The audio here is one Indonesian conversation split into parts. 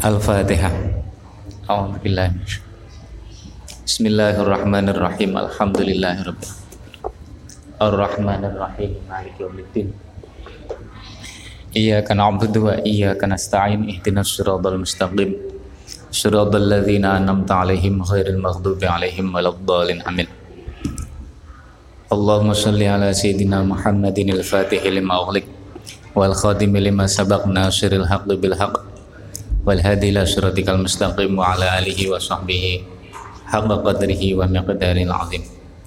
Al-Fatihah. A'udzubillahi Bismillahirrahmanirrahim. Alhamdulillahirabbil Ar-Rahmanirrahim Maliki yaumiddin. Iyyaka na'budu wa iyyaka nasta'in. Ihdinas siratal mustaqim. Shiratal ladzina an'amta 'alaihim ghairil maghdubi 'alaihim waladdallin. Amin. Allahumma shalli ala sayyidina Muhammadin al-Fatih lima ughliq wal khatimi lima sabaq nasiril haqqi bil haqq wal hadi ila siratikal mustaqim wa ala alihi wa sahbihi haqqa qadrihi wa miqdaril azim.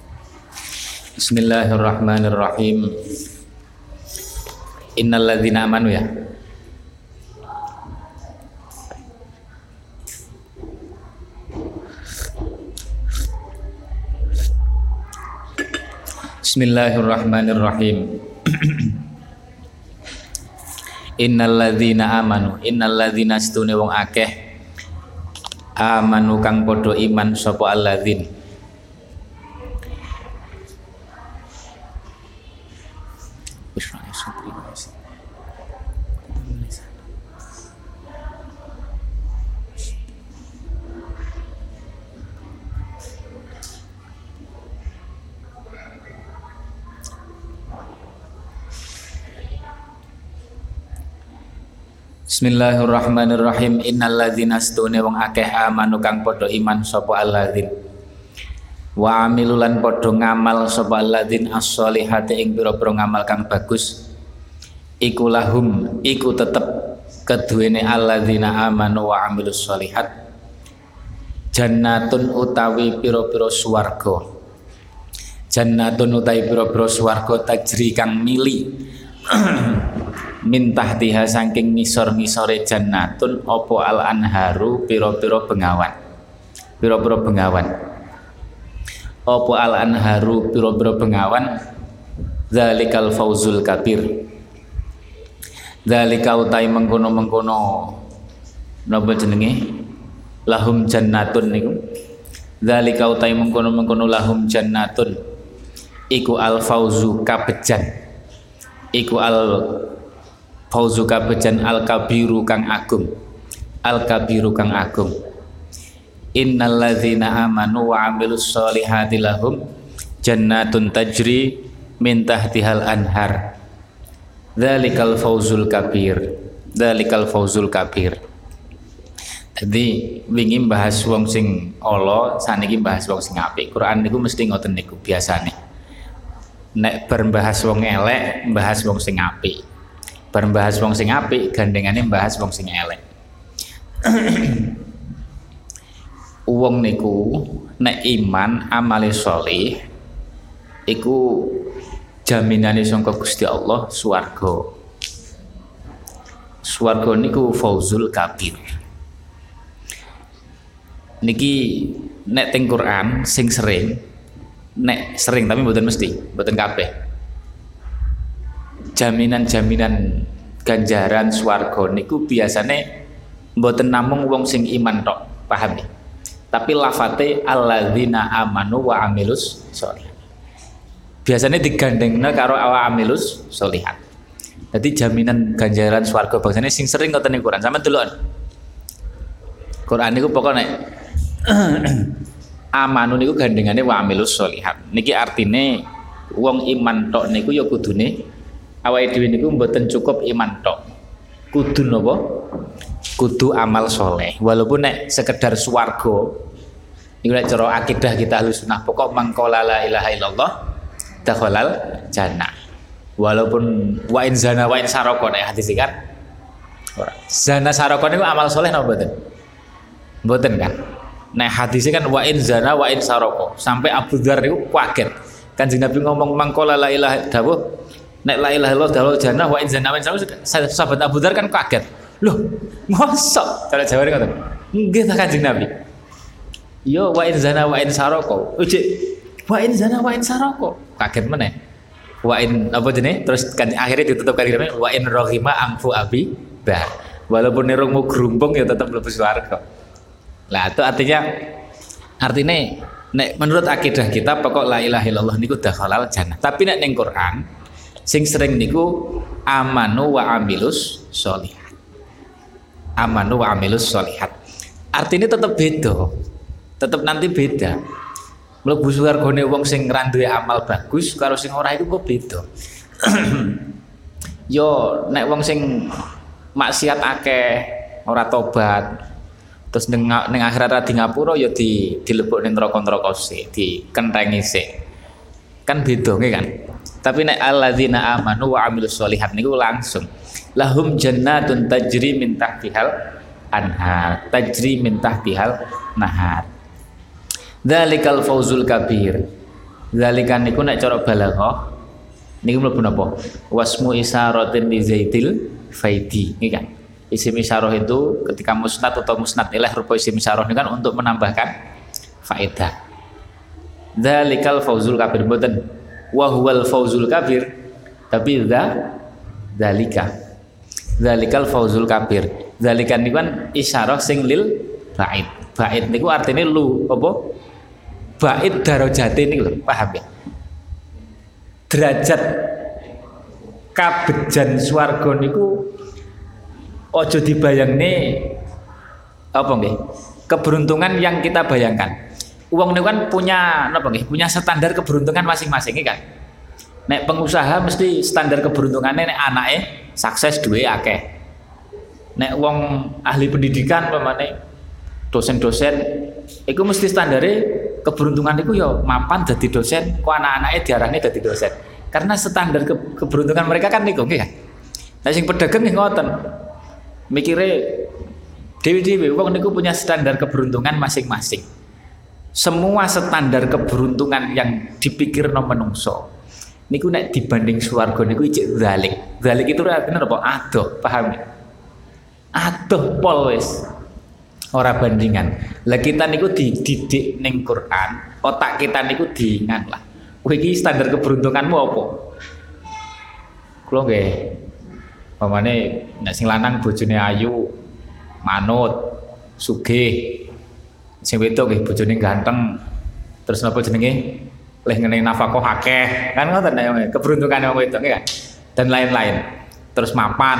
Bismillahirrahmanirrahim. Innal ladzina amanu ya. Bismillahirrahmanirrahim. Innal ladzina amanu, innal ladzina stune wong akeh amanu kang padha iman sapa alladzin. Bismillahirrahmanirrahim. Innal ladzina stune wong akeh amanu kang padha iman sapa alladzin wa amilulan padha ngamal sapa alladzin as-sholihati ing pira-pira ngamal kang bagus iku lahum iku tetep keduwene alladzina amanu wa amilus sholihat jannatun utawi pira-pira swarga. Jannatun utawi pira-pira swarga tajri kang mili min tahtiha saking ngisor-ngisore jannatun opo al anharu piro-piro bengawan. Piro-piro bengawan. Opo al anharu piro-piro bengawan. Dzalikal fauzul kabir. Dzalika utai mengkono-mengkono napa jenenge? Lahum jannatun niku. Dzalika utai mengkono-mengkono lahum jannatun. Iku al fauzu kabejan. Iku al fauzu kabejan al kabiru kang agung. Al kabiru kang agung. Innal ladzina amanu wa amilus sholihati lahum jannatun tajri min tahtihal anhar. Dzalikal fauzul kabir. Dzalikal fauzul kabir. Jadi wingi bahas wong sing ala, saniki bahas wong sing apik. Quran niku mesti ngoten niku biasane. Nek berbahas wong elek, bahas wong sing apik. Berbahas wong sing apik, gandengane bahas wong sing elek. Wong niku nek iman amale sholih iku jaminane saka Gusti Allah swarga. Swarga niku fauzul kabir. Niki nek teng Quran sing sering nek sering tapi mboten mesti, mboten kabeh. Jaminan-jaminan ganjaran swarga niku biasane mboten namung wong sing iman tok, paham ya? Tapi lafate alladzina amanu wa amilus sholihat. Biasane digandengna karo wa amilus sholihat. Jadi jaminan ganjaran swarga bangsane sing sering ngoten ning Quran. Sampeyan delok. Quran niku pokoknya amanu niku gandengane wa amilus sholihat. Niki artine wong iman tok niku ya kudune awake dhewe niku mboten cukup iman tok. Kudu napa? Kudu amal soleh. Walaupun nek sekedar swarga niku nek cara akidah kita Ahlussunnah pokok mangkola la ilaha illallah dakhalal jannah. Walaupun wa in zana wa in saraka nek hadis kan. Ora. Zana saraka niku amal soleh napa mboten? Mboten kan? Nah hadisnya kan wa in zana wa in saroko sampai Abu Dzar itu kaget. Kanjeng Nabi ngomong mangkola la ilaha dawuh nek la ilaha illallah dawuh jannah wa in zana wa in saroko. Sahabat Abu Dzar kan kaget. Loh, mosok cara jawab ngoten. Nggih ta Kanjeng Nabi. Yo wa in zana wa in saroko. Ujik wa in zana wa in saroko. Kaget meneh. Wa in apa jenenge? Terus kan akhirnya ditutup kali namanya wa in rohima amfu abi bah. Walaupun nerungmu gerumpung ya tetap mlebu swarga. Lah itu artinya nek menurut akidah kita pokok la ilaha illallah niku dakhalal jannah. Tapi nek ning Quran sing sering niku amanu wa amilus sholihat. amanu wa amilus sholihat. Artinya tetap beda. Tetap nanti beda. Mlebu swargane wong sing ra duwe amal bagus karo sing ora iku kok beda. Yo nek wong sing maksiat akeh ora tobat terus ning akhirat ra di ngapura ya dilebokne neraka-neraka sik, dikentengi sik. Kan beda nggih kan. Tapi nek alladzina amanu wa amilus sholihat niku langsung lahum jannatun tajri min tahtihal anhar, tajri min tahtihal nahar. Dzalikal fauzul kabir. Dzalikan niku nek cara balaghah niku mlebu napa? Wasmu isyaratin li zaitil faidi. Nggih kan. Isim isyarah itu ketika musnad atau musnad ilaih rupa isim isyarah ini kan untuk menambahkan faedah. Dzalikal fauzul kabir mboten wa huwal fauzul kabir tapi dzalika. Dzalikal fauzul kabir. Dzalikan niku kan isyarah sing lil ba'id. Ba'id niku artinya lu apa? Ba'id darajate niku lho, paham ya? Derajat kabejan swarga niku ojo dibayangne apa nggih? Keberuntungan yang kita bayangkan. Uang niku kan punya apa nggih? Punya standar keberuntungan masing-masing kan. Nek pengusaha mesti standar keberuntungannya nek anake sukses duwe akeh. Nek wong ahli pendidikan pamane dosen-dosen iku mesti standare keberuntungan iku ya mapan dadi dosen, kok anak-anake diarani dadi dosen. Karena standar keberuntungan mereka kan niku nggih kan. Lah sing pedagang nggih ngoten. Mikire dewe-dewe wong niku punya standar keberuntungan masing-masing. Semua standar keberuntungan yang dipikirno menungso niku nek dibanding swarga niku ijek dzalik. Dzalik itu artinya apa? Adoh, paham ya? Adoh pol wis. Ora bandingan. Lah kita niku dididik ning Quran, otak kita niku diingat lah. Kowe iki standar keberuntunganmu apa? Kulo nggih. Pamane nek sing lanang bojone ayu, manut, sugih. Sing wedok nggih bojone ganteng. Terus napa jenenge? Leh ngene nafkah akeh. Kan ngoten ya keberuntungan wong wedok kan. Dan lain-lain. Terus mapan.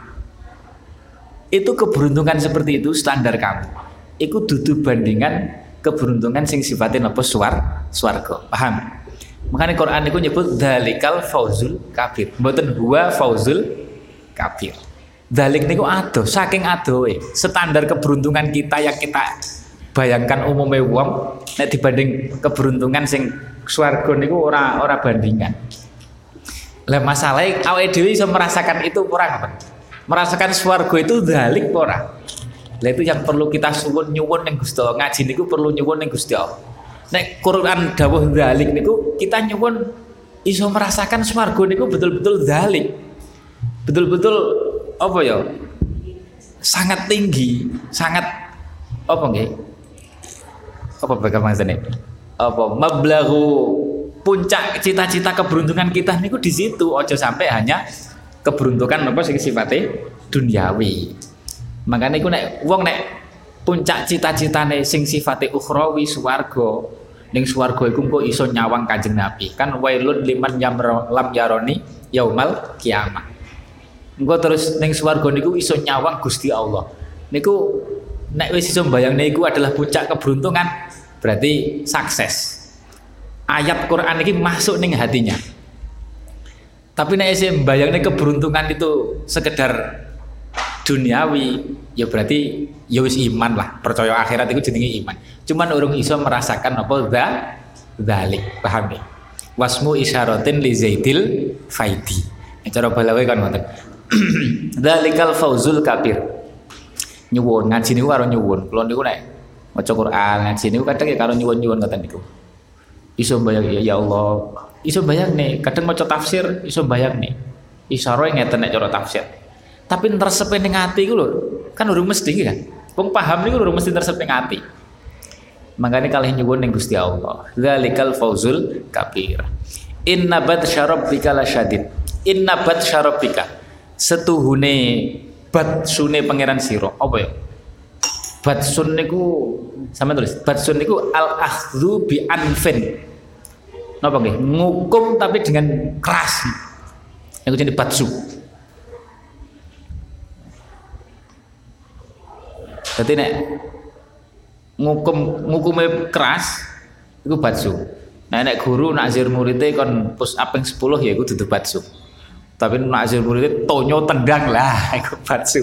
Itu keberuntungan seperti itu standar kamu. Iku dudu bandingan keberuntungan sing sifatnya napa swarga. Paham? Makanya Quran niku nyebut dzalikal fauzul kabir. Mboten huwa fauzul kabir. Dzalik niku adoh, saking adohe. Standar keberuntungan kita yang kita bayangkan umumnya wong nek dibanding keberuntungan sing swarga niku ora bandingan. Lah masalahe awake dhewe iso merasakan itu ora apa? Merasakan swarga itu dzalik ora. Lah itu yang perlu kita nyuwun ning Gusti Allah. Ngaji niku perlu nyuwun ning Gusti Allah. Nek Quran dawuh dzalik niku kita nyuwun iso merasakan swarga niku betul-betul dzalik. Betul-betul apa ya? Sangat tinggi, sangat apa nggih? Apa bagaimana? Apa mablaghu puncak cita-cita keberuntungan kita niku di situ. Ojo sampai hanya keberuntungan apa sing sifatnya duniawi. Makanya iku nek wong nek puncak cita-citane sing sifatnya ukhrawi swarga, ning swarga iku kok iso nyawang Kanjeng Nabi. Kan wailun liman lam yaroni yaumal kiamah. Engko terus ning swarga niku iso nyawang Gusti Allah. Niku nek wis iso mbayangne iku adalah puncak keberuntungan, berarti sukses. Ayat Quran ini masuk ning hatinya. Tapi nek isih mbayangne keberuntungan itu sekedar duniawi, ya berarti ya wis iman lah, percaya akhirat itu jenenge iman. Cuman urung iso merasakan apa dzalik, paham ya? Wasmu isyaratin li zaidil faidi. Cara balawe kan ngoten. Dzalikal fauzul kabir. Nyuwun ngaji niku karo nyuwun. Kula niku nek maca Quran ngaji niku kadang ya karo nyuwun-nyuwun ngoten niku. Iso bayang ya Allah. Iso bayang nih, kadang maca tafsir iso bayang nih. Isyarah ngeten nek cara tafsir. Tapi nresepe ning ati iku lho, kan urung mesti kan. Wong paham niku urung mesti nresepe ning ati. Makane kalih nyuwun ning Gusti Allah. Dzalikal fauzul kabir. Inna batsya rabbika lasyadid. Inna batsya rabbika. Setuhune batsune pangeran sira. Apa ya? Batsun niku sampeyan tulis. Batsun niku al akhdhu bi anfin. Napa nggih? Ngukum tapi dengan keras. Iku jenenge batsu. Dadi nek ngukume keras iku batsu. Nah nek guru nakzir muridé kon push up ping 10 ya iku dudu batsu. Tapi nakzir muridé tonyo tendang lah iku batsu.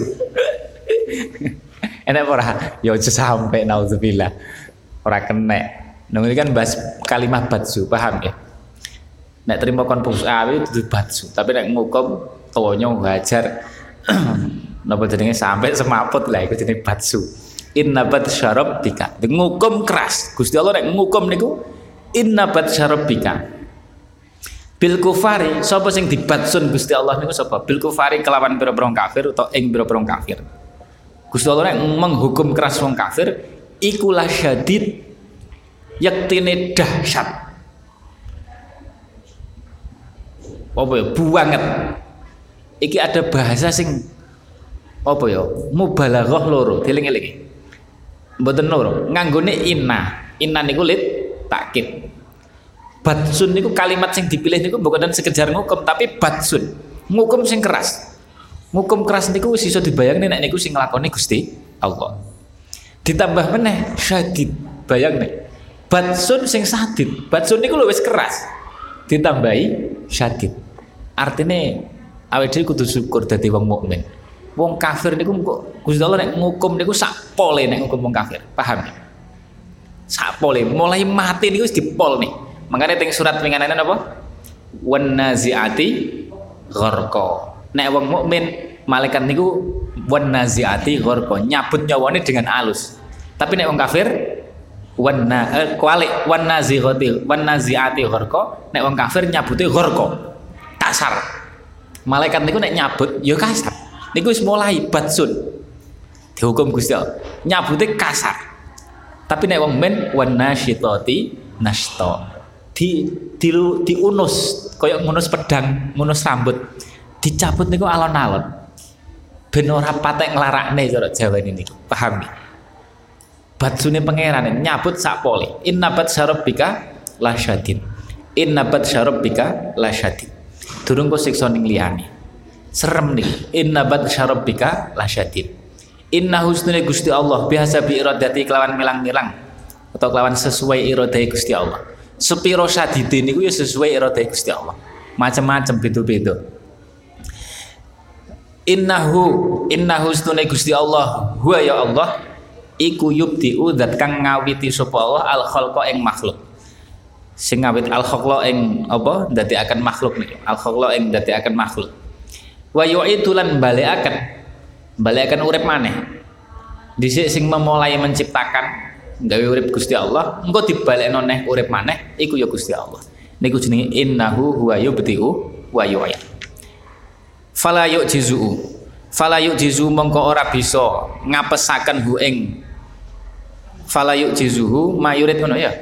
Enak ora? Ya aja sampe naudzubillah. Ora kenek. Nang iki kan bahas kalimat batsu, paham ya? Nek terima kon push up itu dudu batsu, tapi nek ngukum tonyo hajar napa jenenge sampai semaput lah iku jenenge batsu. Innabat syarabbika. Ngukum keras. Gusti Allah nek ngukum niku innabat syarabbika. Bil kufari sapa sing dibatsun Gusti Allah niku sapa? Bil kufari kelawan pira-pira kafir utawa ing pira-pira kafir. Gusti Allah nek menghukum keras wong kafir iku la syadid yaktine dahsyat. Apa ya? Banget. Iki ada bahasa sing apa ya? Mubalaghah loro, dieling-eling. Mboten loro, nganggone inna. Inna niku lit takkid. Batsun niku kalimat sing dipilih niku bukan sekedar ngukum tapi batsun. Ngukum sing keras. Ngukum keras niku wis iso dibayangke nek niku sing nglakoni Gusti Allah. Ditambah meneh syadid. Bayangne. Batsun sing sadid. Batsun niku lho wis keras. Ditambahi syadid. Artine awake dhewe kudu syukur dadi wong mukmin. Wong kafir niku kok Gusti Allah nek ngukum niku sak pole nek ngukum wong kafir. Paham ya? Sak pole mulai mati niku wis dipol nih. Makanya teng surat winganane napa? Wan naziati gharqa. Nek wong mukmin malaikat niku wan naziati gharqa, nyabut nyawane dengan alus. Tapi nek wong kafir wan naziati gharqa, nek wong kafir nyabute gharqa. Kasar. Malaikat niku nek nyabut ya kasar. Niku wis mulai batsun. Dihukum Gusti Allah. Nyabute kasar. Tapi nek wong men wan nasyitati nashta. Diunus kaya ngunus pedang, ngunus rambut. Dicabut niku alon-alon. Ben ora patek nglarakne cara Jawa niku. Paham ya? Batsune pangeran nyabut sak pole. Innabat syarabbika lasyadid. Innabat syarabbika lasyadid. Durung kok siksa ning liyane. Serem nih. Innabat syarabbika lasyadid. Inna husnune Gusti Allah biasa bi iradati kelawan milang-milang atau kelawan sesuai iradai Gusti Allah. Sepiro syadide niku ya sesuai iradai Gusti Allah. Macam-macam beda-beda. Inna husnune Gusti Allah huwa ya Allah iku yubdi'u zat kang ngawiti sapa Allah al khalqa ing makhluk. Sing ngawit al khalqa ing apa ndadekaken makhluk niku. Al khalqa ing ndadekaken makhluk. Wa yu'idu lan balekaken urip maneh. Dhisik sing memulai menciptakan gawe urip Gusti Allah, engko dibalekno neh urip maneh iku ya Gusti Allah. Niku jenenge innahu huwa yubdi'u wa yu'id. Fala yu'jizu mongko ora bisa ngapesaken hu ing fala yu'jizuhu mayurid ngono ya.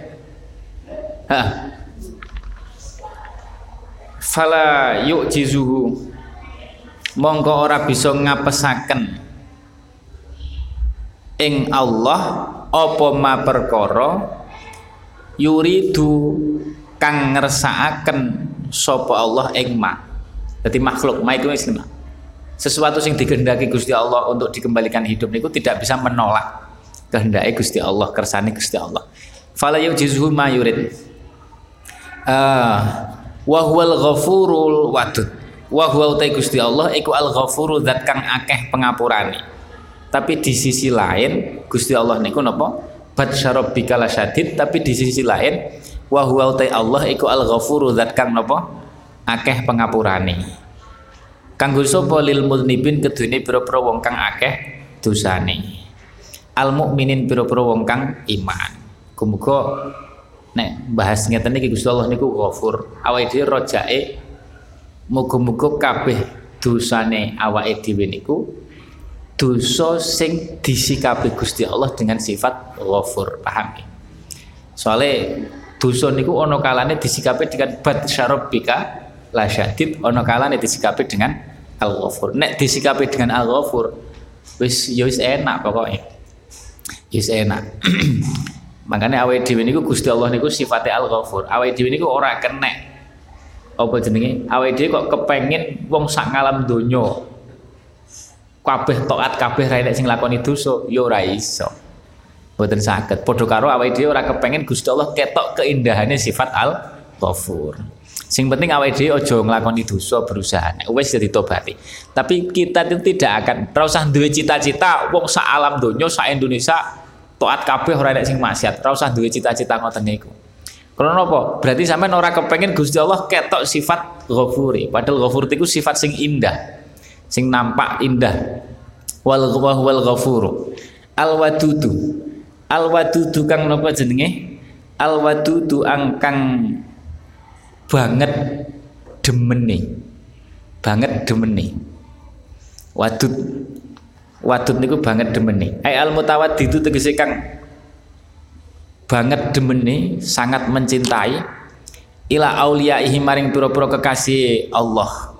Fala yu'jizuhu mongko ora bisa ngapesaken ing Allah apa ma perkara yuridu kang ngersakaken sapa Allah ing ma. Dadi makhluk ma iku sesuatu sing dikehendaki Gusti Allah untuk dikembalikan hidup niku tidak bisa menolak kehendake Gusti Allah, kersane Gusti Allah. Fala yujizuhu ma yurid. Wa huwal ghafurul wadud. Wa huwa utai Gusti Allah iku al-ghafuru zat kang akeh pengapurane. Tapi di sisi lain Gusti Allah niku napa? Batsarabbika lasyadid, tapi di sisi lain wa huwa utai Allah iku al-ghafuru zat kang napa? Akeh pengapurane. Kanggo sapa lil mudnibin kedune pira-pira wong kang akeh dosane. Al mukminin pira-pira wong kang iman. Muga nek bahas ngeten iki Gusti Allah niku Ghafur. Awake dhewe rojake muga-muga kabeh dosane awake dhewe niku dosa sing disikapi Gusti Allah dengan sifat Ghafur. Paham ya? Soale dosa niku ana kalane disikapi dengan batsarabbika lasyadid, ana kalane disikapi dengan Al-Ghafur. Nek disikapi dengan Al-Ghafur wis ya wis enak pokoknya. Wis enak. Makanya awake dhewe niku Gusti Allah niku sifate Al-Ghafur. Awake dhewe niku ora kenek apa jenenge? Awake dhewe kok kepengin wong sak ngalam donya kabeh taat kabeh ra enek sing lakoni dosa ya ora iso. Mboten saged. Padha karo awake dhewe ora kepengin Gusti Allah ketok keindahannya sifat Al-Ghafur. Sing penting awake dhewe aja nglakoni dosa berusaha. Nek wis ya ditobati. Tapi kita itu tidak akan ora usah duwe cita-cita wong sak alam donya sak Indonesia taat kabeh ora enek sing maksiat. Ora usah duwe cita-cita ngoten niku. Karena apa? Berarti sampean ora kepengin Gusti Allah ketok sifat Ghafuri. Padahal Ghafur itu sifat sing indah. Sing nampak indah. Wal Ghafuru. Al-Wadudu. Al-Wadudu kang napa jenenge? Al-Wadudu angkang banget demene. Banget demene. Wadud niku banget demene. Ai al-mutawaddidu tegese kang banget demene, sangat mencintai ila auliyaihi maring pira-pira kekasih Allah.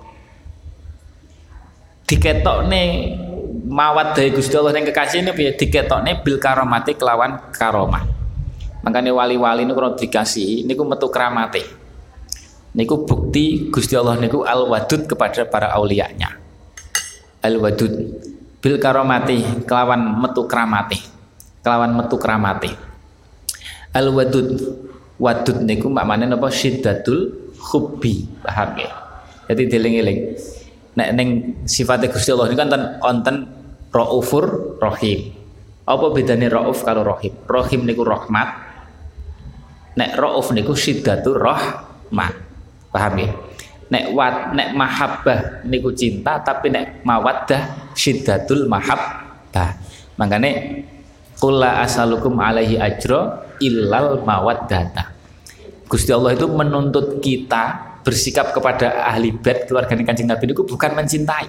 Diketokne mawaddah Gusti Allah ning kekasih ini piye diketokne bil karamati kelawan karomah. Makane wali-wali niku ora dikasih niku metu kramate. Niku bukti Gusti Allah niku al-wadud kepada para auliyanya. Al-wadud bil karamati kelawan metu kramate. Kelawan metu kramate. Al-wadud wadud niku maknane napa syiddatul hubbi, paham ya? Jadi dieling-eling nek ning sifate Gusti Allah niku wonten Raufur Rahim. Apa bedane Rauf karo Rahim? Rahim niku rahmat. Nek Rauf niku syiddatur rahmah. Paham ya? Nek mahabbah niku cinta, tapi nek mawaddah syiddatul mahabbah. Makane qul la asalukum alaihi ajra illal mawaddata. Gusti Allah itu menuntut kita bersikap kepada ahli bait keluarga Kanjeng Nabi itu bukan mencintai.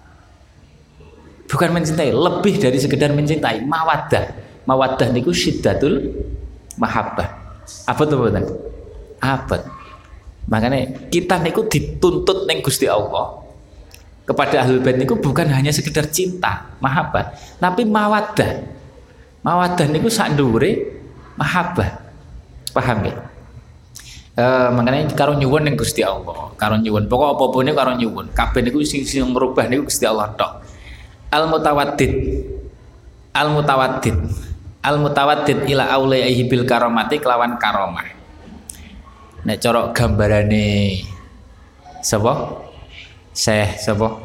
Bukan mencintai, lebih dari sekedar mencintai, mawaddah. Mawaddah niku syiddatul mahabbah. Apa tuh mboten? Abad. Makanya kita niku dituntut ning Gusti Allah kepada ahli bait niku bukan hanya sekedar cinta, mahabbah, tapi mawaddah. Mawaddah niku sak dhuwure mahabbah. Paham ya? Makanya karo nyuwun ning Gusti Allah, karo nyuwun. Pokok apa-apa niku karo nyuwun. Kabeh niku sing ngrubah niku Gusti Allah tok. Al-mutawaddid. Al-mutawaddid. Al-mutawaddid ila aulaihi bil karamati kelawan karomah. Nek cara gambarane sapa? Syekh sapa?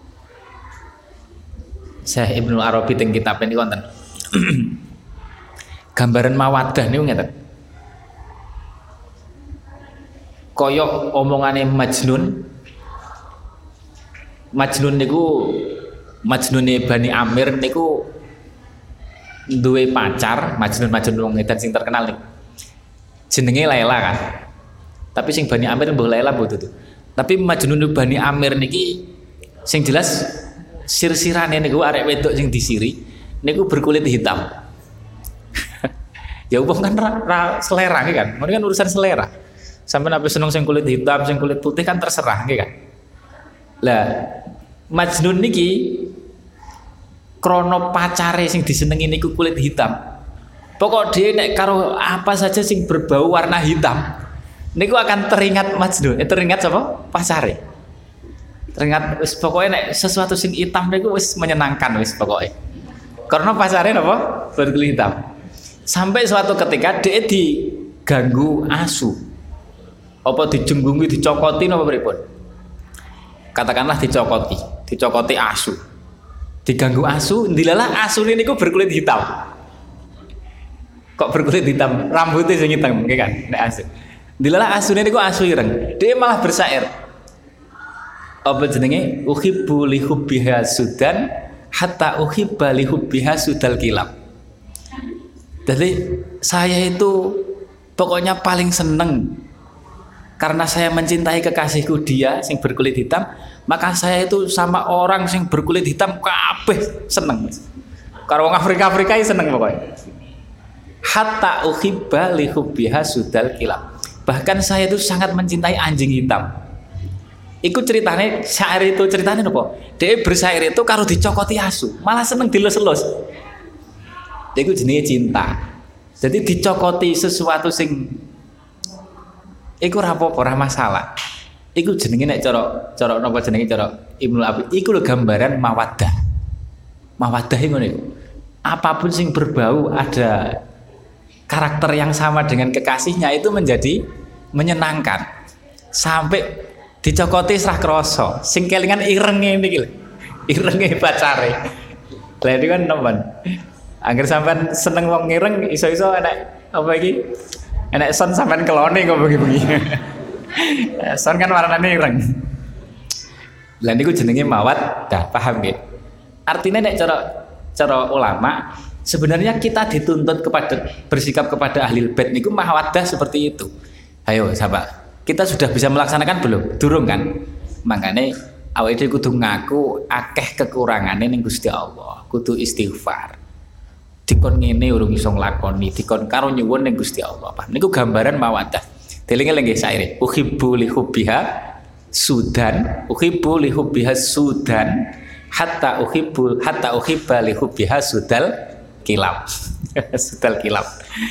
Syekh Ibnu Arabi teng kitab niku wonten. Gambaran mawaddah niku ngeten. Kaya omongane Majnun. Majnun niku Majnune Bani Amir niku duwe pacar, Majnun wong edan sing terkenal niku. Jenenge Laila kan. Tapi sing Bani Amir mbuh Laila mbuh tutu. Tapi Majnun Bani Amir niki sing jelas sir-sirane niku arek wedok sing disiri niku berkulit hitam. Ya wong kan selera kan. Ini kan urusan selera. Sampai nabi seneng sing kulit hitam, sing kulit putih kan terserah nggih kan. Lah Majnun niki krono pacare sing disenengi niku kulit hitam. Pokok dia nek karo apa saja sing berbau warna hitam niku akan teringat Majnun. Teringat apa? Pacare. Teringat wis pokoke nek sesuatu sing hitam niku wis menyenangkan wis pokoke. Karena pacare napa? Berkulit hitam. Sampai suatu ketika dia diganggu asu. Apa dijenggungi, dicokoti napa pripun? Katakanlah dicokoti asu. Diganggu asu, ndilalah asune niku berkulit hitam. Kok berkulit hitam? Rambutnya sing hitam, nggih kan? Nek asu. Ndilalah asune niku asu ireng. Dia malah bersair. Apa jenenge? Uhibbu li hubbiha sudan hatta uhibba li hubbiha sudal kilab. Jadi saya itu pokoknya paling seneng karena saya mencintai kekasihku dia sing berkulit hitam, maka saya itu sama orang sing berkulit hitam kabeh seneng. Karo wong Afrika seneng pokoknya. Hatta uhibba li hubbiha sudal kilab. Bahkan saya itu sangat mencintai anjing hitam. Iku ceritane syair itu ceritane apa? Dia bersair itu karo dicokoti asu, malah seneng dilus-elus. Iku jenenge cinta. Jadi dicokoti sesuatu sing iku ora apa-apa, ora masalah. Iku jenenge nek cara napa jenenge cara Ibnu Abi, iku lho gambaran mawaddah. Mawaddah ngono iku. Apapun sing berbau ada karakter yang sama dengan kekasihnya itu menjadi menyenangkan. Sampai dicokoti serah krasa. Sing kelingan irenge niki lho. Irenge pacare. Lah iki kan teman. Angger sampean seneng wong ireng iso-iso enek apa iki? Enek son sampean kelone kok bengi-bengi. Son kan warnane ireng. Lah niku jenenge mawaddah, paham nggih? Artinya nek cara ulama sebenarnya kita dituntut kepada bersikap kepada ahli bait niku mawaddah seperti itu. Ayo sahabat, kita sudah bisa melaksanakan belum? Durung kan? Makanya awake dhewe kudu ngaku akeh kekurangane ning Gusti Allah, kudu istighfar. Dikon ngene urung iso nglakoni, dikon karo nyuwun ning Gusti Allah. Apa? Niku gambaran mawaddah. Delinge nggih saire. Uhibbu li hubbiha sudan, uhibbu li hubbiha sudan, hatta uhibba li hubbiha sudal kilab. Sudal kilab.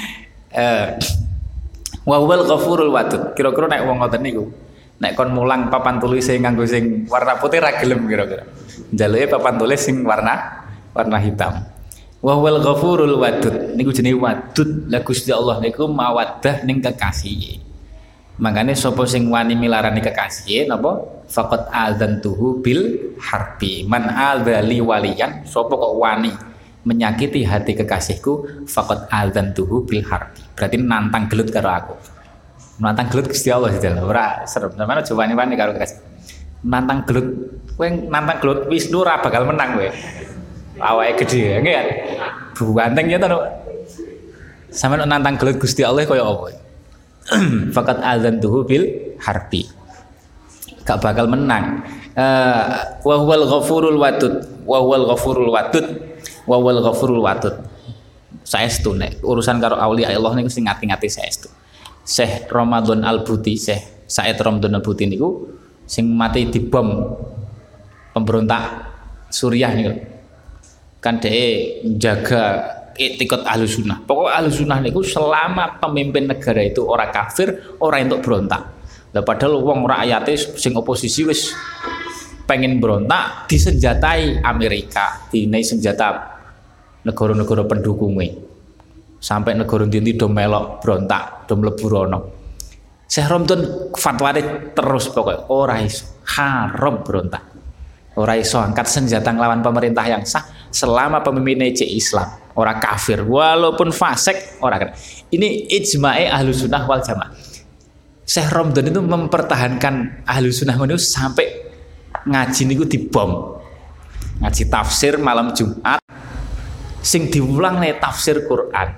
Wa huwal ghafurul wadud. Kira-kira nek wong ngoten niku, nek kon mulang papan tulis nganggo sing warna putih ra gelem kira-kira. Njaluke papan tulis sing warna hitam. Wa huwal ghafurul wadud. Niku jenenge wadud. Lah Gusti Allah niku mawaddah ning kekasih. Makane sapa sing wani milarani kekasih napa? Faqat adzantuhu bil harbi. Man adzali waliyan, sapa kok wani menyakiti hati kekasihku, faqat adzantuhu bil harbi. Berarti nantang gelut karo aku. Nantang gelut Gusti Allah sedal. Ora serem. Sampeyan aja wani-wani karo kekasih. Nantang gelut, kowe nantang gelut Wisnu ora bakal menang kowe. Awake gede nggih kan. Buanteng ya to. Sampeyan nantang gelut Gusti Allah kaya apa? Faqat adzantuhu bil harbi. Gak bakal menang. Wa huwal ghafurul wadud. Wa huwal ghafurul wadud. Wa huwal ghafurul wadud. Saestu nek urusan karo auliya Allah niku sing ngati-ngati saestu. Syekh Ramadan Al-Buti, Syekh Said Ramadan Al-Buti niku sing mati dibom pemberontak Suriah niku. Kan dhek menjaga etikot Ahlus Sunnah. Pokok Ahlus Sunnah niku selama pemimpin negara itu orang kafir, orang entuk berontak. Lah padahal wong rakyate sing oposisi wis pengen berontak disenjatai Amerika, dinai senjata negara-negara pendukungnya. Sampai negara ndi do melok berontak, do mlebu rono. Syekh Ramadan fatwane terus pokoknya ora iso, haram berontak. Ora iso angkat senjata nglawan pemerintah yang sah selama pemimpinnya Islam, orang kafir walaupun fasik orang kena. Ini ijma'i Ahlus Sunnah wal Jamaah. Syekh Ramadan itu mempertahankan Ahlus Sunnah itu sampai ngaji niku dibom. Ngaji tafsir malam Jumat sing diulang nih tafsir Quran.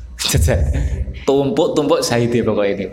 Tumpuk-tumpuk saiki pokoknya ini.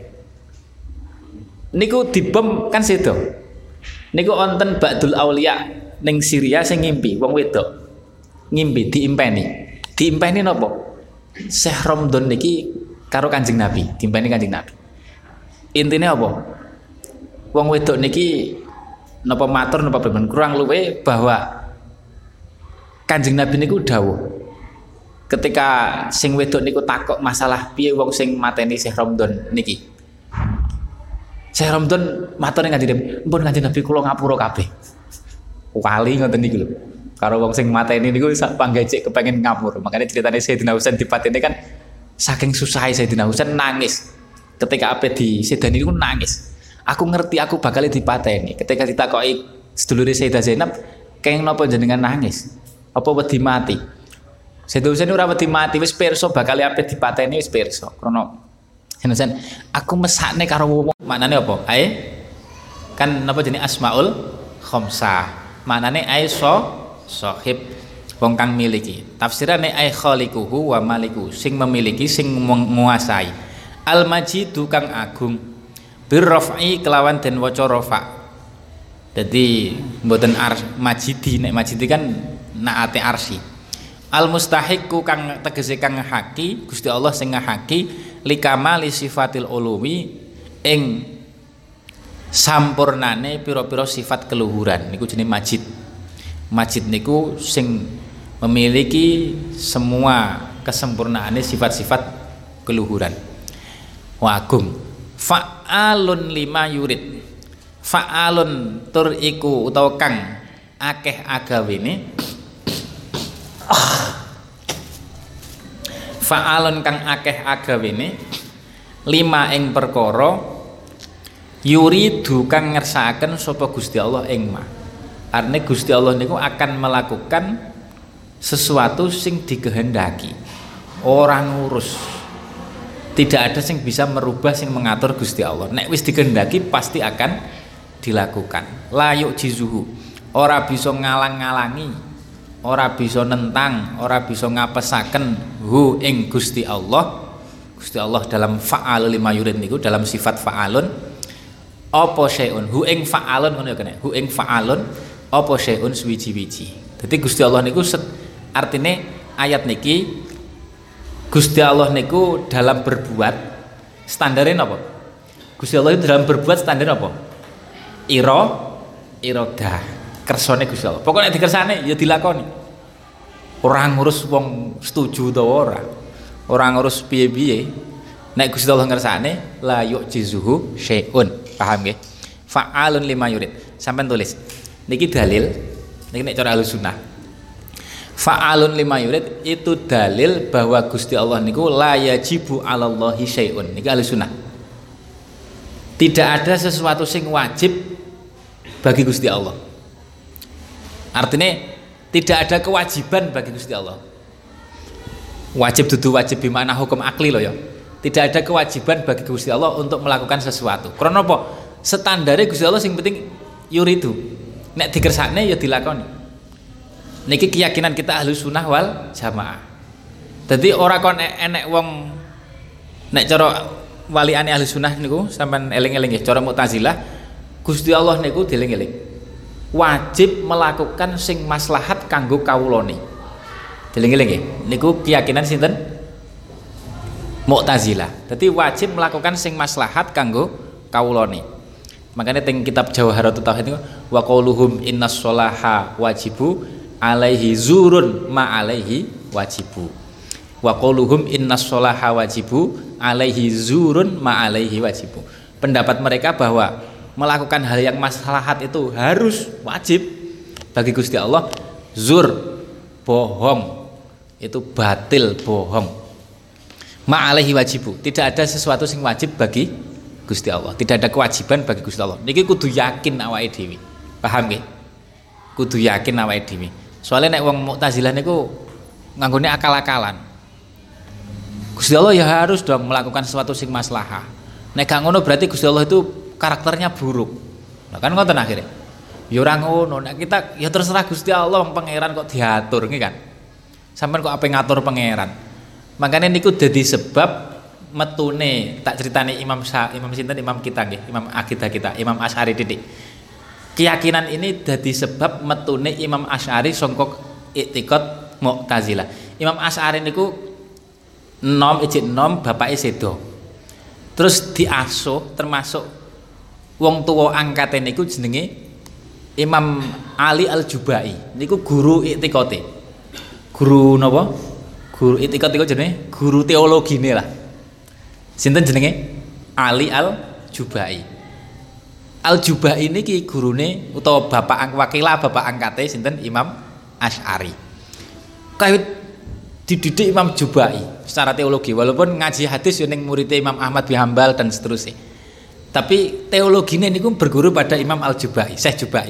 Niku dibom kan situ. Niku onten Ba'dul Aulia ning Syria sing ngimpi wong wedok. Ngimpi diimpeni napa? Syekh Ramadan niki karo Kanjeng Nabi, diimpeni Kanjeng Nabi. Intine apa? Wong wedok niki napa matur napa pripun kurang luwe bahwa Kanjeng Nabi niku dawuh ketika sing wedok niku takok masalah piye wong sing mateni Syekh Ramadan niki. Syekh Ramadan matur ning Kanjeng Nabi, "Mpun Kanjeng Nabi kula ngapura kabeh." Wali ngoten niku lho. Karo wong sing mateni niku sak panggecek kepengin ngapura. Makanya ceritane Sayyidina Husain dipateni kan saking susah Sayyidina Husain nangis. Ketika ape disedani niku nangis. Aku ngerti aku bakal dipateni. Ketika ditakoki sedulure Sayyidah Zainab, "Kenging napa jenengan nangis? Apa wedi mati?" Sayyidina Husain ora wedi mati, wis pirsa bakal ape dipateni wis pirsa. Krana Sen, aku mesakne karo wong. Maknane apa? Ae kan napa jenenge Asmaul Khamsah. Maknane ae sahib wong kang miliki. Tafsirane ae khaliquhu wa maliku, sing memiliki, sing menguasai. Al Majidu kang agung. Bir raf'i kelawan den waca rafa. Dadi mboten majidi, nek majidi kan naate arsy. Al mustahiqu kang tegese kang ngahaki, Gusti Allah sing ngahaki likamali sifatil ulumi ing sampurnane pira-pira sifat keluhuran niku jenenge majid. Majid niku sing memiliki semua kesempurnaane sifat-sifat keluhuran. Wa agung. Fa'alun lima yurid. Fa'alun tur iku utawa kang akeh agawene Fa'alun kang akeh agawene lima ing perkara yuridu kang ngersakaken sapa Gusti Allah ing ma. Artinya Gusti Allah niku akan melakukan sesuatu sing dikehendaki. Orang ngurus. Tidak ada sing bisa merubah sing mengatur Gusti Allah. Nek wis dikehendaki pasti akan dilakukan. La yu'jizuhu. Ora bisa ngalang-ngalangi. Ora bisa nentang, ora bisa ngapesaken hu ing Gusti Allah. Gusti Allah dalam fa'al lima yurid niku dalam sifat fa'alun apa syai'un hu ing fa'alun ngono ya kene. Hu ing fa'alun apa syai'un suwiji-wiji. Dadi Gusti Allah niku artine ayat niki Gusti Allah niku dalam berbuat standare napa? Gusti Allah itu dalam berbuat standar apa? Iradah. Kersane Gusti Allah. Pokoknya dikersane ya dilakoni. Ora ngurus wong setuju ta ora. Ora ngurus piye-piye. Nek Gusti Allah ngersane la yu'jizuhu syai'un. Paham nggih? Fa'alun lima yurid. Sampeyan tulis. Niki dalil. Niki nek cara Ahlussunnah. Fa'alun lima yurid itu dalil bahwa Gusti Allah niku la yajibu 'alallahi syai'un. Niki Ahlussunnah. Tidak ada sesuatu sing wajib bagi Gusti Allah. Artinya tidak ada kewajiban bagi Gusti Allah. Wajib dudu wajib bimana hukum akli loh ya. Tidak ada kewajiban bagi Gusti Allah untuk melakukan sesuatu. Karena apa? Standare Gusti Allah sing penting yuridu. Nek dikersakne ya dilakoni. Niki keyakinan kita Ahlussunnah wal Jamaah. Jadi ora kon enek wong nek cara waliane Ahlussunnah niku sampean eling-eling nggih, cara Mu'tazilah Gusti Allah niku dieling-eling. Wajib melakukan sing maslahat kanggo kawulane. Dieling-eling nggih. Niku keyakinan sinten? Mu'tazilah. Dadi wajib melakukan sing maslahat kanggo kawulane. Makanya teng kitab Jawharatut Tauhid niku wa qauluhum innas sholaha wajibu alaihi zurun ma alaihi wajibu. Wa qauluhum innas sholaha wajibu alaihi zurun ma alaihi wajibu. Pendapat mereka bahwa melakukan hal yang maslahat itu harus wajib bagi Gusti Allah. Zur bohong itu batil, bohong. Ma'alaihi wajibu, tidak ada sesuatu yang wajib bagi Gusti Allah, tidak ada kewajiban bagi Gusti Allah. Niki kudu yakin awake dhewe. Paham nggih? Kudu yakin awake dhewe. Soalnya nek wong Mu'tazilah niku nganggone akal-akalan. Gusti Allah ya harus dong melakukan sesuatu sing maslahah. Nek gak ngono berarti Gusti Allah itu karakternya buruk. Nah kan ngoten akhirnya. Ya ora ngono, nek kita ya terserah Gusti Allah, pangeran kok diatur nggih kan. Sampeyan kok ape ngatur pangeran. Makanya niku dadi sebab metune tak ceritani Imam sinten Imam kita nggih, Imam akidah kita, Imam Asy'ari titik. Keyakinan ini dadi sebab metune Imam Asy'ari sangka i'tiqad Mu'tazilah. Imam Asy'ari niku nom bapake sedo. Terus diasuh termasuk wong tuwa angkate niku jenenge Imam Ali Al-Jubai. Niku guru i'tiqate. Guru napa? Guru i'tiqat niku jenenge guru teologine lah. Sinten jenenge? Ali Al-Jubai. Al-Jubai niki gurune utawa wakilah bapak angkate sinten Imam Asy'ari. Kawit dididik Imam Jubai secara teologi, walaupun ngaji hadis yo ning muridé Imam Ahmad bin Hambal dan seterusnya. Tapi teologinya niku berguru pada Imam Al-Jubai, Syekh Jubai.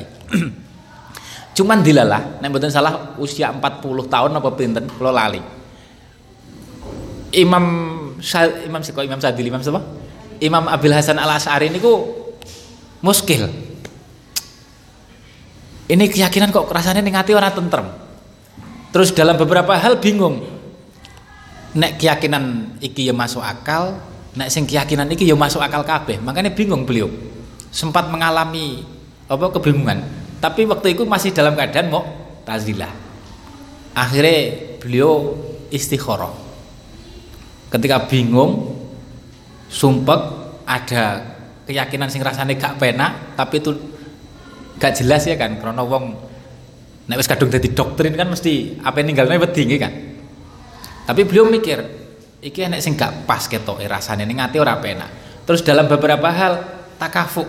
Cuman dilalah, nek mboten salah usia 40 tahun apa pinten, kula lali. Imam Sadili, Imam siapa? Imam Abil Hasan Al-Asy'ari niku muskil. Ini keyakinan kok rasanya ning ati ora tentrem. Terus dalam beberapa hal bingung. Nek keyakinan iki ya masuk akal, nek sing keyakinan iki ya masuk akal kabeh. Makanya bingung beliau. Sempat mengalami kebingungan. Tapi waktu itu masih dalam keadaan Mu'tazilah. Akhirnya beliau istikharah. Ketika bingung, sumpek, ada keyakinan sing rasane gak penak, tapi itu gak jelas ya kan, karena wong nek wis kadung dadi doktrin kan mesti apa ninggalne wedi nggih kan. Tapi beliau mikir, iki nek sing gak pas ketoke rasane ning ati ora penak. Terus dalam beberapa hal takafuk.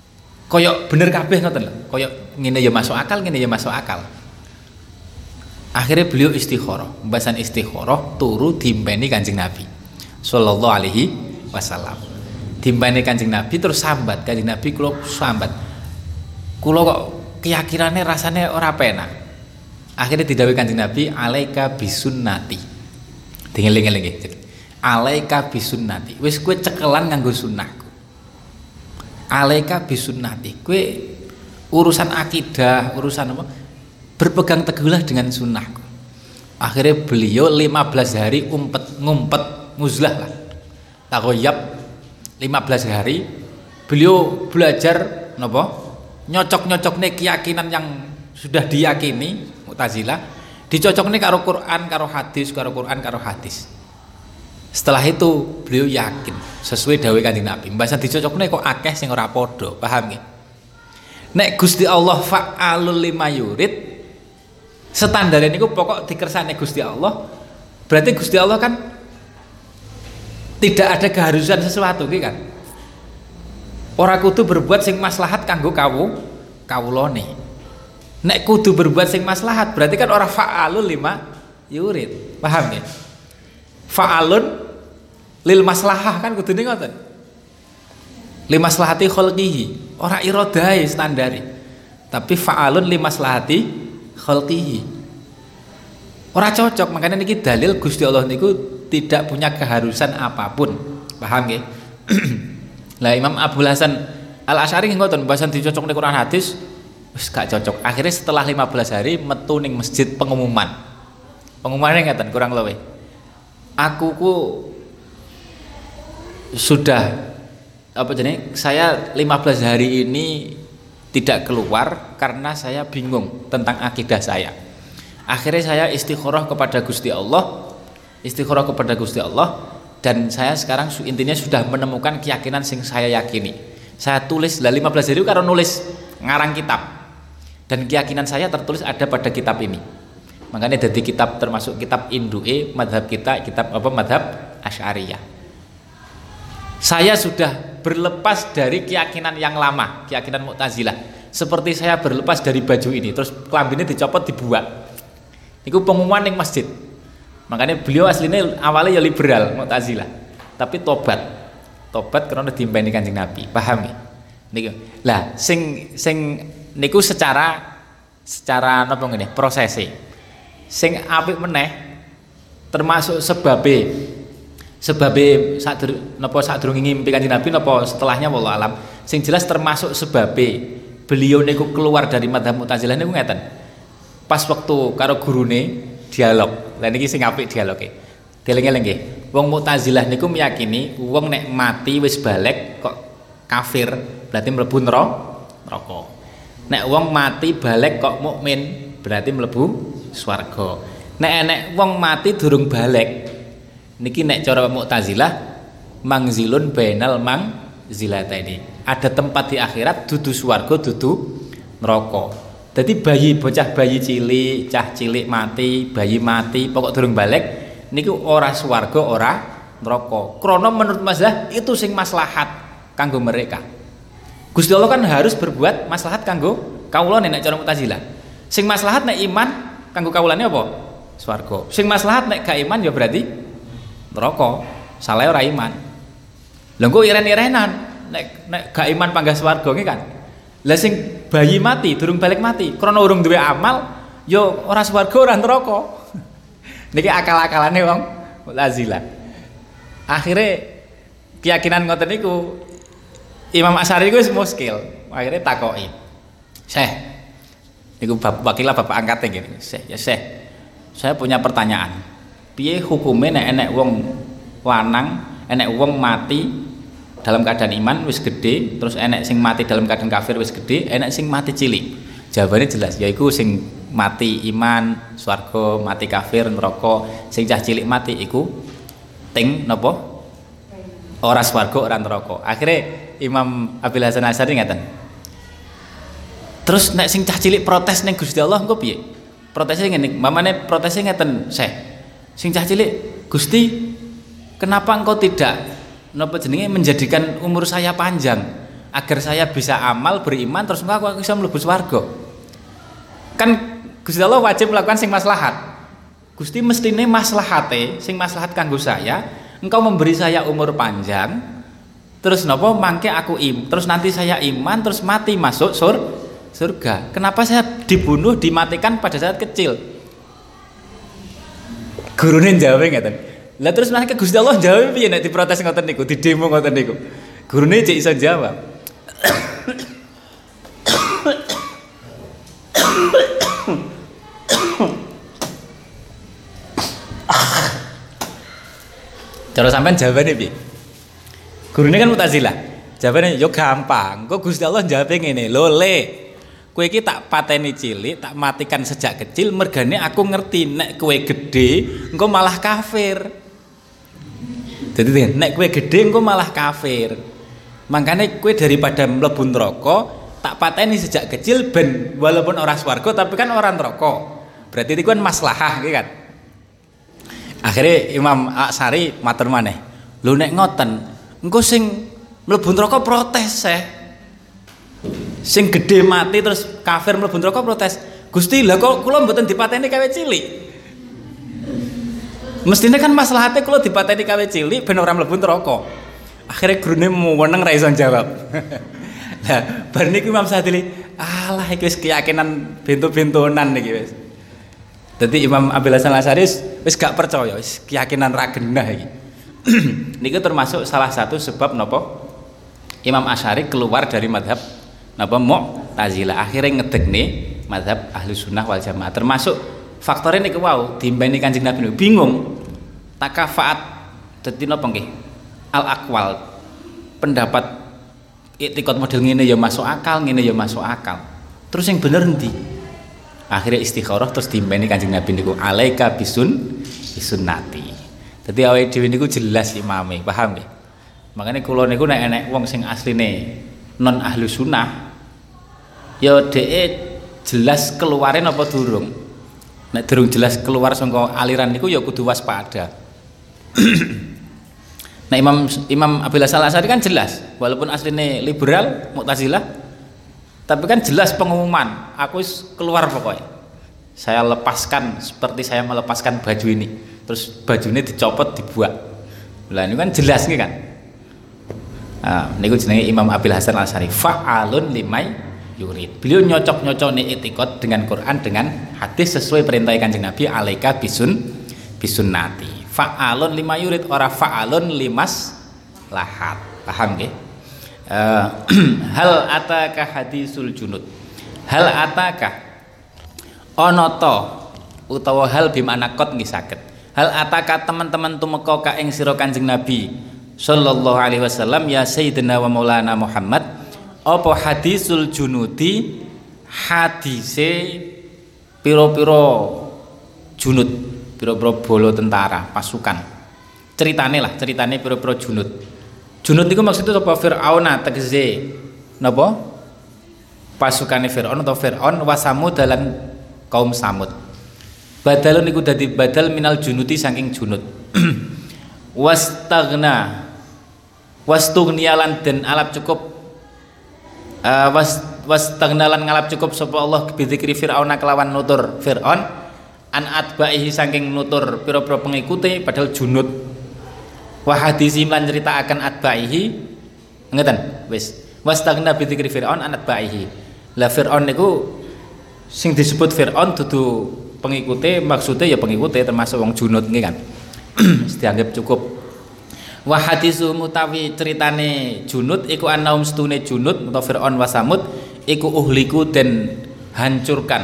Koyok bener kabeh ngoten lho. Koyok ngene ya masuk akal, ngene ya masuk akal. Akhirnya beliau istikharah. Pembahasan istikharah turu diimpeni Kanjeng Nabi sallallahu alaihi wasallam. Diimpeni Kanjeng Nabi terus sambat. Kanjeng Nabi kula sambat. Kula kok keyakinannya rasanya ora penak. Akhirnya didhawuhi Kanjeng Nabi, alaika bisunnati. Dengeling-eling nggih. Alaika bisunnati. Wis kowe cekelan nganggo sunnahku. Alaika bisunnati. Kowe urusan akidah, urusan apa? Berpegang teguhlah dengan sunnahku. Akhirnya beliau 15 hari ngumpet nguzlah lah. Takoyab 15 hari beliau belajar napa? Nyocok-nyocokne keyakinan yang sudah diyakini Mu'tazilah, dicocokne karo Quran, karo hadis, karo Quran, karo hadis. Setelah itu beliau yakin sesuai dawuh Kanjeng Nabi. Mbasan dicocokne kok akeh sing ora padha, paham nggih? Nek Gusti Allah fa'alul lima yurid, standar niku pokok dikersane Gusti Allah, berarti Gusti Allah kan tidak ada keharusan sesuatu iki kan. Ora kudu berbuat sing maslahat kanggo kawulane. Nek kudu berbuat sing maslahat berarti kan ora fa'alul lima yurid. Paham ya? Fa'alun lil maslahah kan kudune ngoten. Li maslahati khalqihi, ora iradai standari. Tapi fa'alun li maslahati khalqihi. Ora cocok, makanya niki dalil Gusti Allah niku tidak punya keharusan apapun. Paham nggih? Lah Imam Abul Hasan Al-Asy'ari ngoten, bahasan dicocokne Quran hadis wis gak cocok. Akhirnya setelah 15 hari metu ning masjid pengumuman. Pengumumannya ngeten kurang luwih. Aku ku sudah apa jenenge? Saya 15 hari ini tidak keluar karena saya bingung tentang akidah saya. Akhirnya saya istikharah kepada Gusti Allah, dan saya sekarang intinya sudah menemukan keyakinan sing saya yakini. Saya tulis lah 15 hari karo nulis ngarang kitab, dan keyakinan saya tertulis ada pada kitab ini. Makanya dari kitab termasuk kitab Indu'e madhab kita, kitab apa madhab Asy'ariyah. Saya sudah berlepas dari keyakinan yang lama, keyakinan Mu'tazilah. Seperti saya berlepas dari baju ini, terus kelambine dicopot dibuat. Itu pengumuman yang masjid. Makanya beliau aslinya awalnya ya liberal Mu'tazilah, tapi tobat karena diimpeni Kanjeng Nabi. Paham ya? Niku. Lah sing niku secara napa ngene prosese. Sing apik meneh termasuk sebabe sadurunge ngimpi Kanjeng Nabi napa setelahnya wallahu alam. Sing jelas termasuk sebabe beliau niku keluar dari madzhab Mu'tazilah niku ngeten. Pas waktu karo gurune dialog. Lah niki sing apik dialoge. Dieling-eling nggih. Wong Mu'tazilah niku meyakini wong nek mati wis balik kok kafir, berarti mlebu neraka. Nek wong mati balik kok mukmin, berarti mlebu swarga. Nek wong mati durung balik, niki nek cara Mu'tazilah mangzilun bainal mangzilataini. Ada tempat di akhirat dudu swarga dudu neraka. Jadi bocah bayi cilik, cah cilik mati, bayi mati, pokok durung balik niku ora swarga ora neraka. Krana menurut mazhab itu sing maslahat kanggo mereka. Gusti Allah kan harus berbuat maslahat kanggo kawulane nek cara Mu'tazilah. Sing maslahat nek iman kanggo kawulane apa? Swarga. Sing maslahat nek gak iman ya berarti neraka. Salah ora iman. Lha engko iren-irenan nek gak iman panggah swarga nggih kan. Lah sing bayi mati durung balik mati krana urung duwe amal ya ora swarga ora neraka. Niki akal-akalane wong Mu'tazilah. Akhire keyakinan ngoten niku Imam Asy'ari iku wis muskil. Akhire takoki. Syekh, niku wakilah bapak angkate ngene. Syekh, saya punya pertanyaan. Piye hukume nek enek wong lanang, enek wong mati dalam keadaan iman wis gede, terus enek sing mati dalam keadaan kafir wis gede, enek sing mati cilik. Jawabannya jelas, yaiku sing mati iman swarga, mati kafir neraka, sing cah cilik mati iku ting napa? Ora swarga ora neraka. Akhire Imam Abul Hasan Asy'ari ngaten. Terus nek sing cah cilik protes ning Gusti Allah engko piye? Protesnya ngene, mamane protesnya ngeten, Syekh. Sing cah cilik, Gusti, kenapa engkau tidak napa jenenge menjadikan umur saya panjang agar saya bisa amal beriman terus aku bisa mlebu swarga. Kan Gusti Allah wajib melakukan sing maslahat. Gusti mestine maslahate sing maslahat kanggo saya, engkau memberi saya umur panjang. Terus napa mangke aku terus nanti saya iman terus mati masuk surga. Kenapa saya dibunuh dimatikan pada saat kecil? Gurune jawab ngeten. Lah terus mangke Gusti Allah jawab piye nek diprotes ngoten niku, didemo ngoten niku. Gurune cek iso jawab. Cara sampean jawabane piye? Gurune kan Mu'tazilah. Jawabane yo gampang. Kok Gusti Allah jawabe ngene, "Lho Le, kowe iki tak pateni cilik, tak matikan sejak kecil, mergane aku ngerti nek kowe gedhe engko malah kafir." Jadi nek kowe gedhe engko malah kafir. Makanya kowe daripada mlebu neraka, tak pateni sejak kecil ben walaupun ora swarga tapi kan ora neraka. Berarti itu kan maslahah gitu kan. Akhirnya Imam Asy'ari matur maneh. Lho nek ngoten, engko sing mlebu neraka protes sing gedhe mati terus kafir mlebu neraka protes. Gusti, lah kok kula mboten dipateni kawe cilik? Mestine kan maslahate kula dipateni kawe cilik ben ora mlebu neraka. Akhirnya gurune meneng ra iso jawab. Lah bar niku Imam Sadili, alah iki wis keyakinan bento-bentonan niki wis. Dadi Imam Abil Hasan Asy'ari wis gak percaya, wis keyakinan ra genah iki. Niku termasuk salah satu sebab napa Imam Asy'ari keluar dari madhab napa Mu'tazilah, akhirnya ngedekne madhab Ahlu Sunnah wal Jamaah. Termasuk faktornya niku wau diimbani Kanjeng Nabi bingung takafaat dadi napa nggih al-aqwal, pendapat iktikad model ngene ya masuk akal, ngene ya masuk akal. Terus yang bener endi? Akhirnya istikharah terus diimbani Kanjeng Nabi niku alaika bisunnati. Dadi awake dhewe niku jelas imame, paham nggih? Makanya kula niku nek enek wong sing asline non ahlu sunnah ya dhek jelas keluare napa durung. Nek durung jelas keluar saka aliran niku ya kudu waspada. Nah Imam Abil Hasan Asy'ari kan jelas walaupun asline liberal Mu'tazilah tapi kan jelas pengumuman aku keluar pokoknya saya lepaskan seperti saya melepaskan baju ini terus bajunya dicopot dibuat lah ini kan jelas nih kan. Nah, niku jenenge Imam Abil Hasan Asy'ari fa'alun limai yurid. Beliau nyocok-nyocokne itikad dengan Quran dengan hadis sesuai perintah Kanjeng Nabi alaika bisunnati. Fa'alun lima yurid ora fa'alun limas lahat. Paham nggih? Hal ataka hadisul junud. Hal ataka ana ta utawa hal bimana qad nggih saged. Hal ataka teman-teman tumeka ka ing sira Kanjeng Nabi sallallahu alaihi wasallam ya sayyidina wa maulana Muhammad apa hadisul junudi hadise piro-piro junud piro-piro bolo tentara pasukan ceritane piro-piro junud niku maksudnya apa Fir'aun tegese napa pasukane Fir'aun atau Fir'aun wa Samud dalan kaum Samud badalun niku dadi badal minal junudi saking junud wastugnialan dan alap cukup wastagnalan ngalap cukup sapa Allah bidzikri Fir'aun kelawan nutur Fir'aun an atba'ihi saking nutur pira-pira pengikute padahal junud wa hadisi lan cerita akan atba'ihi ngeten wis wastagna bidzikri Fir'aun an atba'ihi la Fir'aun niku sing disebut Fir'aun dudu pengikute maksudnya ya pengikute termasuk wong junud nggih kan. Dianggap cukup. Wa hadisu mutawi ceritane junud iku anaum stune junud utawa Fir'aun wa Samud iku uhliku dan hancurkan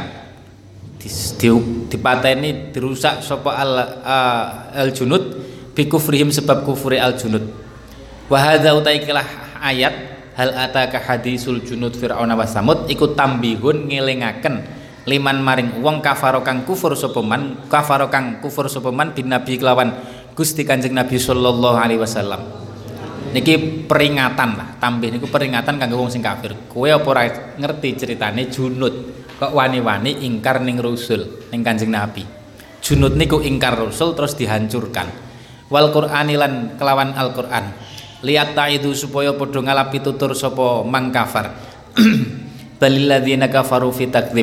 dipateni dirusak sapa al junud bi kufrihim sebab kufuri al junud. Wa hadza utaikilah ayat hal ataka hadisul junud Fir'aun wa Samud iku tambihun ngelingaken liman maring wong kafaro kang kufur sapa man bin nabi kelawan Gusti Kanjeng Nabi sallallahu alaihi wasallam. Niki peringatan lah, tambih niku peringatan kanggo wong sing kafir. Kowe apa ora ngerti ceritane junud kok wani-wani ingkar ning Rasul ning Kanjeng Nabi. Junud niku ingkar Rasul terus dihancurkan. Wal Qur'ani lan kelawan Al-Qur'an. Lihat itu supaya padha ngalapi tutur sapa mang kafar. Balil ladzina kafaru fi takdzib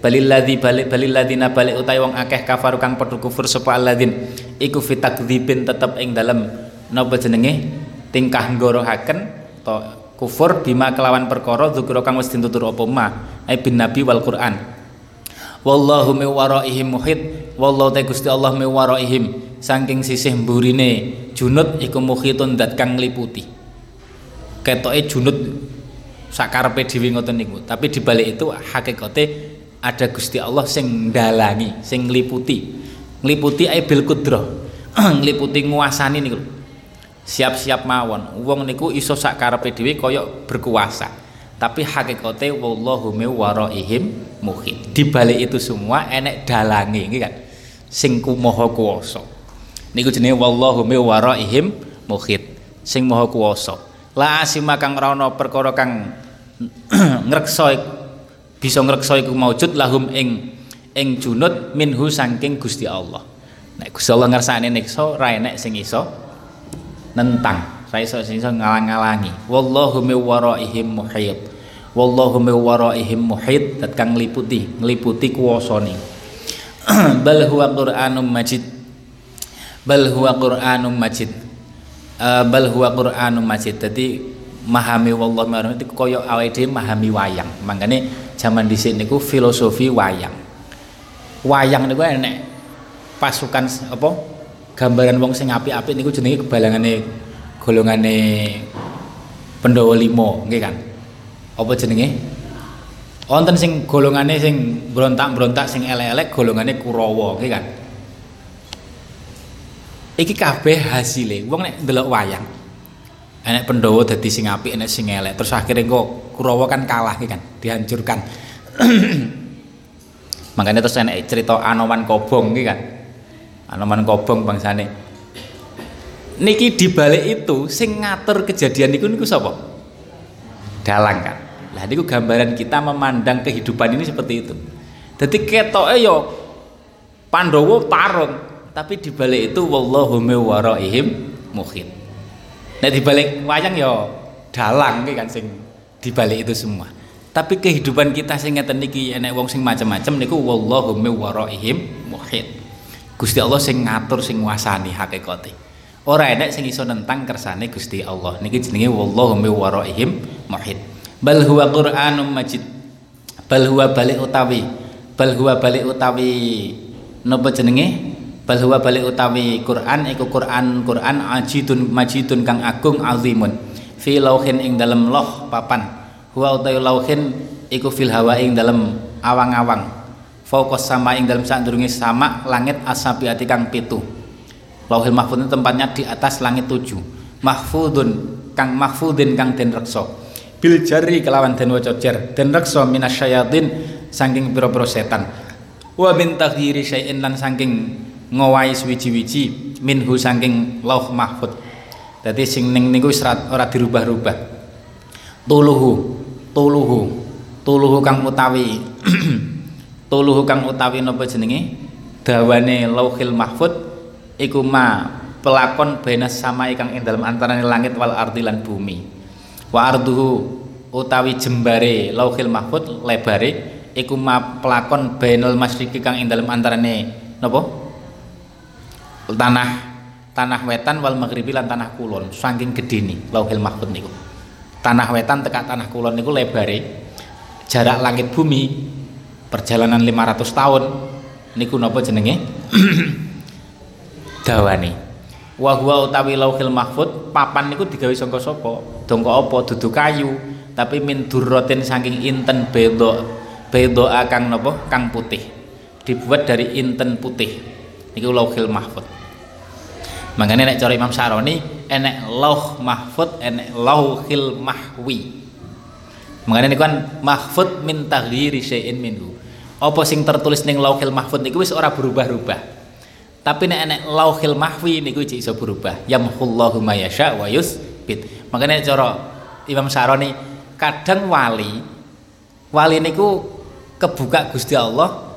balilladzina balik utawi wong akeh kafaru kang padha kufur sapa alladzin iku fitakdzibin tetep ing dalem napa jenenge tingkah nggorohaken to kufur bima kelawan perkara dzikra kang wis ditutur apa ma ai bin nabi wal Quran. Wallahu min waraihim muhit, wallahu ta Gusti Allah min waraihim saking sisih mburine junut iku muhitun dat kang ngliputi. Ketoke junut sakarepe dhewe ngoten niku, tapi dibalik itu hakikate ada Gusti Allah sing ndalangi, sing ngliputi ai bil qudrah. Ngliputi nguasani niku. Siap-siap mawon. Wong niku iso sakarepe dhewe kaya berkuasa. Tapi hakikate wallahu min waraihim muhit. Di balik itu semua enek dalange nggih kan. Sing maha kuwasa. Niku jenenge wallahu min waraihim muhit. Sing maha kuwasa. La asima kang ora ana perkara kang ngreksa bisa ngreksa iku maujud lahum ing junut minhu saking Gusti Allah. Nek Gusti Allah ngersakne niksa ra enek sing iso nentang. Raiso ngalang-alangi. Wallahu min waraihim muhit. Wallahu min waraihim muhit, dat kang ngliputi kuwasane. Bal huwa Qur'anum Majid. Bal huwa Qur'anum Majid. Bal huwa Qur'anum Majid. Dadi memahami wallahu min itu kaya awake dhewe memahami wayang. Mangkane jaman dhisik niku filosofi wayang. Wayang niku enek pasukan apa? Gambaran wong sing apik-apik niku jenenge kebalangane golongane Pandhawa 5 nggih kan. Apa jenenge? Wonten sing golongane sing brontak-brontak sing elek-elek golongane Kurawa nggih kan. Iki kabeh hasile wong nek ndelok wayang. Enek Pandhawa dadi sing apik, enek sing elek. Terus akhirnya kok Kurawa kan kalah nggih kan, dihancurkan. Makanya terus enek cerita Anoman Kobong nggih kan. Anoman Kobong bangsane. Niki dibalik itu sing ngatur kejadian niku sapa? Dalang kan. Lah niku gambaran kita memandang kehidupan ini seperti itu. Dadi ketoke ya Pandhawa tarung, tapi dibalik itu wallahu min waraihim muhit. Nek dibalik wayang ya dalang kan sing dibalik itu semua. Tapi kehidupan kita sing ngeten niki enek wong sing macam-macam niku wallahu min waraihim muhit. Gusti Allah sing ngatur sing nguasani hakikate. Ora enek sing iso nentang kersane Gusti Allah. Niki jenenge wallahu min waraihim muhit. Bal huwa Qur'anum Majid. Bal huwa balik utawi. Bal huwa balik utawi napa jenenge? Bal huwa balik utawi Quran iku Quran majidun kang agung azimun. Fi lauhin ing dalem loh papan. Huwa utawi lauhin iku fil hawa ing dalem awang-awang. Fauqas sama ing dalem sadurunge sama langit asabiati kang 7. Lauhil mahfud itu tempatnya di atas langit 7. Mahfudun mahfudin kang den reksa. Bil jari kelawan den waca jar, den reksa minasyayatin saking pira-pira setan. Wa min taghyiri syai'in lan saking ngowahi suwiji-wiji minhu saking lauh mahfud. Dadi sing ning niku wis ora dirubah-rubah. Tuluhu kang utawi tuluhu kang utawi napa jenenge? Dawane lauhil mahfud iku ma pelakon benas sama ikang ing dalam antarane langit wal ardi lan bumi. Wa arduhu utawi jembare lauhil mahfud lebare iku ma pelakon bainal masyriqi kang ing dalam antarane napa tanah wetan wal maghribi lan tanah kulon. Saking gedene lauhil mahfud niku. Tanah wetan tekan tanah kulon niku lebare jarak langit bumi perjalanan 500 tahun niku napa jenenge? Dawane. Wa huwa utawi lauhil mahfud papan niku digawe saka sapa? Dongko apa? Dudu kayu, tapi min durratin saking inten bedo kang napa? Kang putih. Dibuat dari inten putih. Niku lauhil mahfud. Makane nek cara Imam Syaroni enek lauh mahfud, enek lauhil mahwi. Makane niku kan mahfud min taghyiri syai'in minhu. Apa sing tertulis ning lauhil mahfud niku wis ora berubah-ubah. Tapi nek enek lauhil mahwi niku iki iso berubah. Yamhullahu ma yasha wa yusbit. Makanya cara Imam Syaroni kadang wali niku kebuka Gusti Allah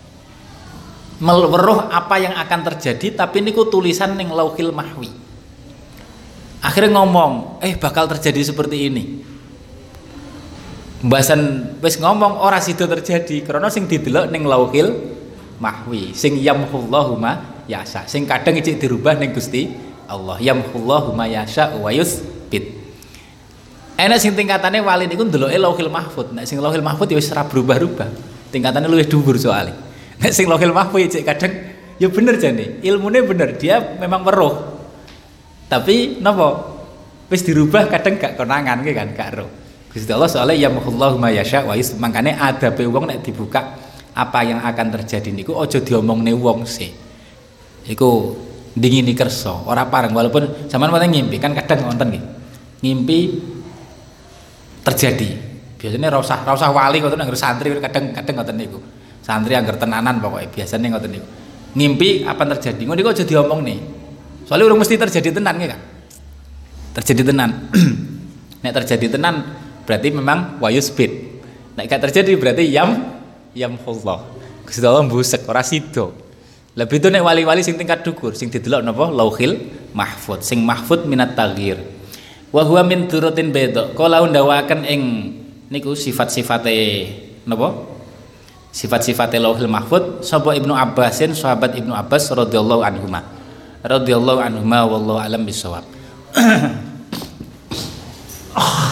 meweruh apa yang akan terjadi, tapi niku tulisan ning lauhil mahwi. Akhirnya ngomong, bakal terjadi seperti ini. Mbasan wis ngomong ora sida terjadi karena sing didelok ning Lauhil Mahwi sing yamhullahu ma yasha sing kadang icik dirubah ning Gusti Allah yamhullahu ma yasha wa yusbit. Enak sing tingkatane wali niku ndeloke Lauhil Mahfud. Nek sing Lauhil Mahfud ya wis ora berubah-ubah. Tingkatane luwih dhuwur soalé. Nek sing Lauhil Mahfud cek kadang ya bener jane. Ilmune bener, dia memang weruh. Tapi napa? Wis dirubah kadang gak konangan ki kan, gak roh. Gusti Allah soalnya yamhullahu ma yasha wa yus. Makane adabe wong nek dibuka apa yang akan terjadi niku aja diomongne wong sih. Iku dingini kersa, ora pareng walaupun sampean mate ngimpi kan kadang wonten nggih. Ngimpi terjadi biasanya rausah wali ngoten anggar santri kadang ngoten niku santri anggar tenanan pokoknya biasanya ngoten niku ngimpi apa terjadi ngono niku aja diomong nih soalnya urung mesti terjadi tenan kan terjadi tenan nek terjadi tenan berarti memang wayusbit nek gak terjadi berarti yamhullah Gusti Allah mbusek ora sida lebih itu nek wali-wali sing tingkat dhuwur sing didelok napa Lauhil Mahfud sing mahfud minat taghir wa huwa min turutin beda kala ndawaken ing niku sifat-sifate napa sifat-sifate Lauhil Mahfud sapa Ibnu Abbasin sahabat Ibnu Abbas radhiyallahu anhuma wallahu alam bisawab